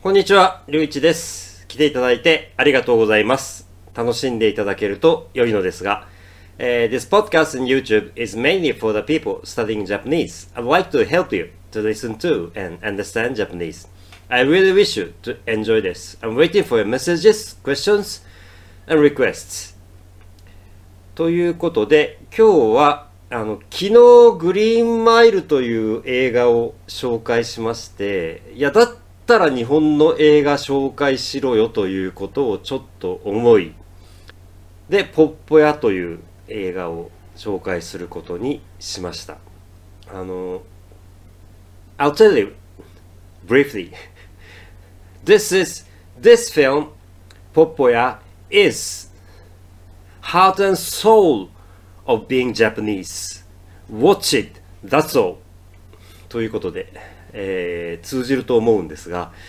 こんにちは、りゅういちです。来ていただいてありがとうございます。楽しんでいただけると良いのですが、This podcast on YouTube is mainly for the people studying Japanese. I'd like to help you to listen to and understand Japanese. I really wish you to enjoy this. I'm waiting for your messages, questions, and requests. ということで、今日は昨日グリーンマイルという映画を紹介しまして、だったら日本の映画紹介しろよということをちょっと思い、で、ポッポ屋という映画を紹介することにしました。I'll tell you briefly. This film, ポッポ屋 is heart and soul of being Japanese. Watch it, that's all. ということで、通じると思うんですが、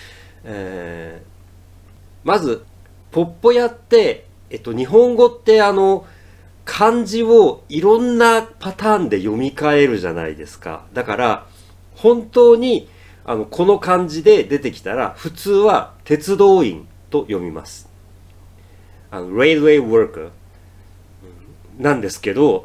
まずポッポ屋って、日本語って漢字をいろんなパターンで読み替えるじゃないですか。だから本当にこの漢字で出てきたら普通は鉄道員と読みます。Railway worker なんですけど、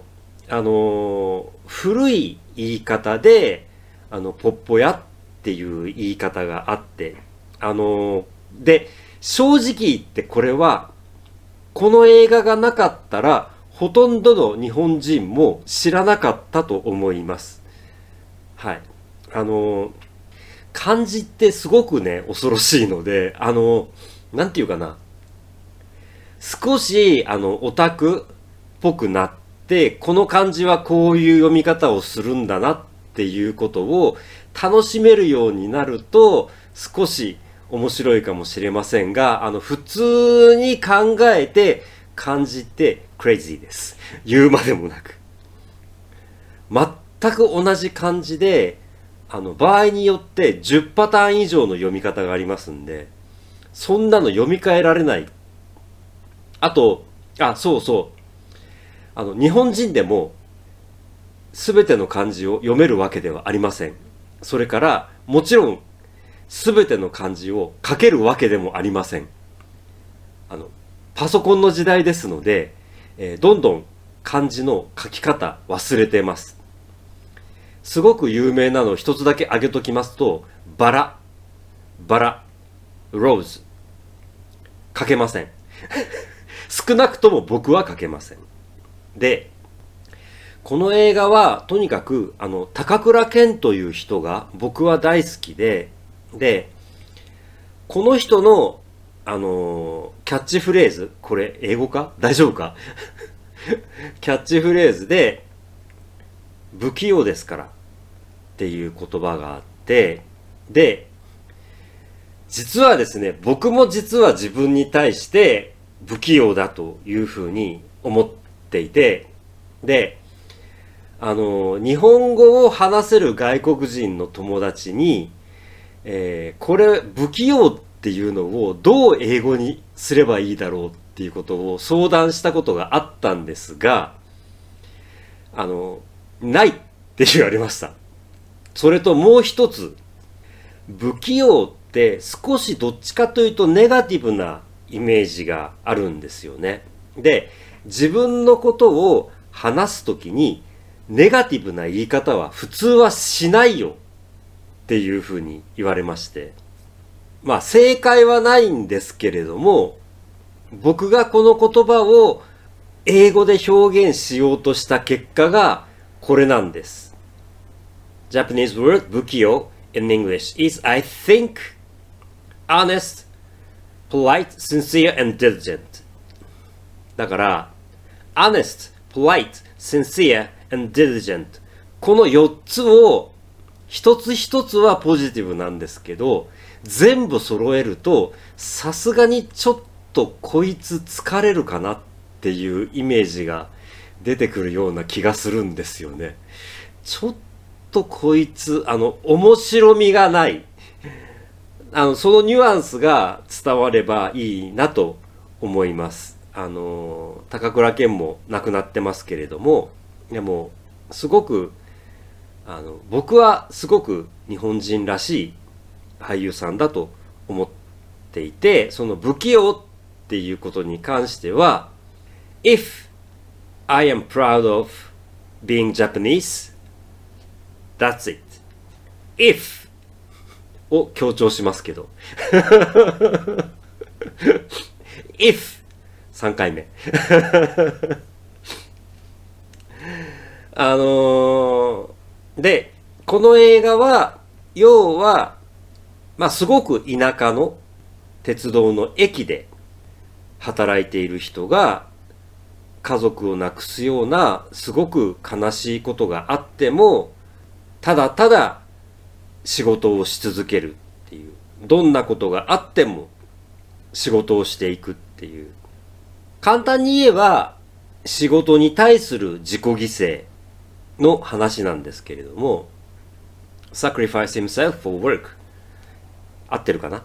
古い言い方でポッポ屋っていう言い方があって、で正直言ってこれはこの映画がなかったらほとんどの日本人も知らなかったと思います。はい。漢字ってすごくね、恐ろしいので、なんていうかな。少し、オタクっぽくなって、この漢字はこういう読み方をするんだなっていうことを楽しめるようになると、少し面白いかもしれませんが、普通に考えて漢字ってクレイジーです。言うまでもなく。全く同じ漢字で、場合によって10パターン以上の読み方がありますんで、そんなの読み替えられない。あと、そうそう。日本人でも全ての漢字を読めるわけではありません。それから、もちろん、すべての漢字を書けるわけでもありません。パソコンの時代ですので、どんどん漢字の書き方忘れてます。すごく有名なのを一つだけ挙げときますと、バラ、ローズ。書けません。少なくとも僕は書けません。で、この映画はとにかく高倉健という人が僕は大好きで、この人のキャッチフレーズ、これ英語か大丈夫かキャッチフレーズで不器用ですからっていう言葉があって、で、実はですね、僕も実は自分に対して不器用だというふうに思っていて、で、日本語を話せる外国人の友達に、これ不器用っていうのをどう英語にすればいいだろうっていうことを相談したことがあったんですが、ないって言われました。それともう一つ、不器用って少しどっちかというとネガティブなイメージがあるんですよね。で、自分のことを話すときにネガティブな言い方は普通はしないよっていうふうに言われまして。まあ正解はないんですけれども、僕がこの言葉を英語で表現しようとした結果がこれなんです。Japanese word 不器用 in English is, I think, honest, polite, sincere, and diligent. だから、honest, polite, sincere, and diligent. この4つを一つ一つはポジティブなんですけど、全部揃えるとさすがにちょっとこいつ疲れるかなっていうイメージが出てくるような気がするんですよね。ちょっとこいつ面白みがない。そのニュアンスが伝わればいいなと思います。高倉健も亡くなってますけれども、でもすごく僕はすごく日本人らしい俳優さんだと思っっていて、その不器用っていうことに関しては、If I am proud of being Japanese, that's it. If を強調しますけど。If 3回目。で、この映画は、要は、すごく田舎の鉄道の駅で働いている人が家族を亡くすようなすごく悲しいことがあっても、ただただ仕事をし続けるっていう、どんなことがあっても仕事をしていくっていう、簡単に言えば仕事に対する自己犠牲の話なんですけれども、sacrifice himself for work 合ってるかな。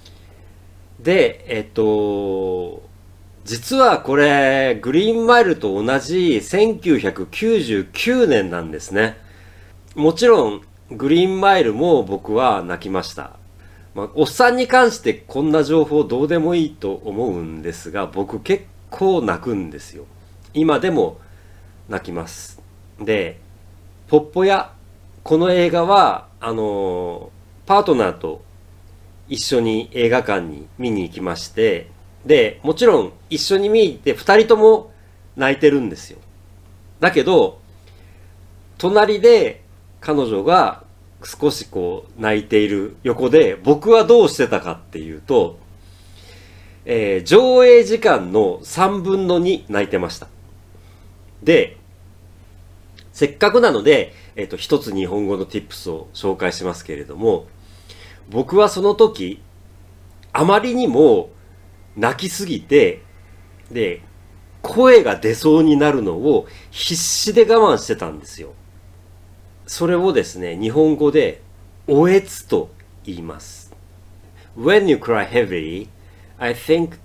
で、実はこれグリーンマイルと同じ1999年なんですね。もちろんグリーンマイルも僕は泣きました。おっさんに関してこんな情報どうでもいいと思うんですが、僕結構泣くんですよ。今でも泣きます。で、ポッポ屋、この映画はパートナーと一緒に映画館に見に行きまして、で、もちろん一緒に見に行って二人とも泣いてるんですよ。だけど、隣で彼女が少し泣いている横で僕はどうしてたかっていうと、上映時間の3分の2泣いてました。で、せっかくなので、一つ日本語の tips を紹介しますけれども、僕はその時、あまりにも泣きすぎて、で、声が出そうになるのを必死で我慢してたんですよ。それをですね、日本語で、おえつと言います。When you cry heavily, I think,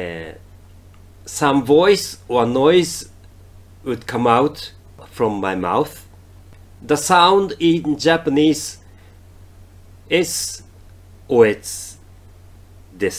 some voice or noise would come out from my mouth. The sound in Japanese is おえつです。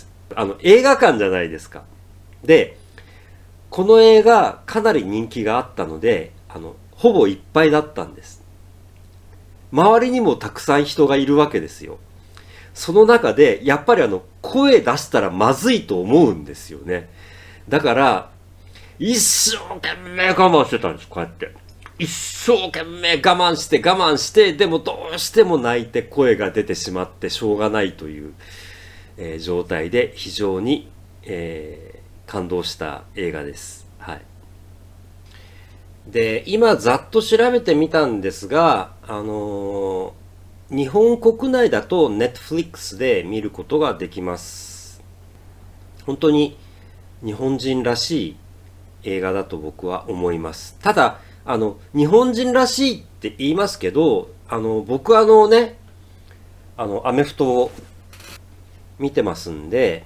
映画館じゃないですか。で、この映画かなり人気があったので、ほぼいっぱいだったんです。周りにもたくさん人がいるわけですよ。その中で、やっぱり声出したらまずいと思うんですよね。だから、一生懸命我慢してたんです、こうやって。一生懸命我慢して、でもどうしても泣いて声が出てしまってしょうがないという、状態で非常に、感動した映画です。はい。で、今ざっと調べてみたんですが、日本国内だと Netflix で見ることができます。本当に日本人らしい映画だと僕は思います。ただ、日本人らしいって言いますけど、僕アメフトを見てますんで、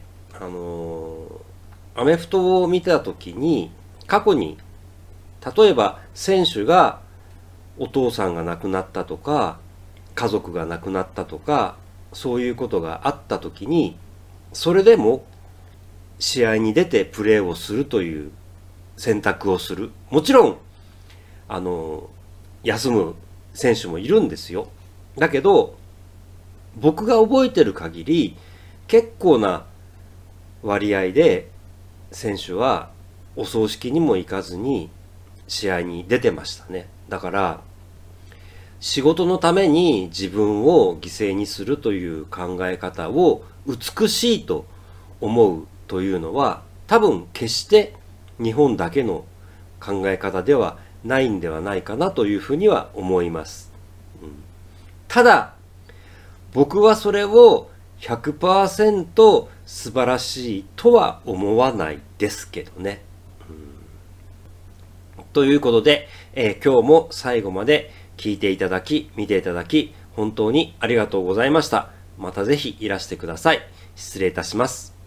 アメフトを見たときに、過去に、例えば選手がお父さんが亡くなったとか、家族が亡くなったとか、そういうことがあったときに、それでも試合に出てプレーをするという選択をする。もちろん、休む選手もいるんですよ。だけど、僕が覚えてる限り、結構な割合で選手はお葬式にも行かずに試合に出てましたね。だから、仕事のために自分を犠牲にするという考え方を美しいと思うというのは、多分決して日本だけの考え方ではないんではないかなというふうには思います。ただ、僕はそれを 100% 素晴らしいとは思わないですけどね。ということで、今日も最後まで聞いていただき、見ていただき、本当にありがとうございました。またぜひいらしてください。失礼いたします。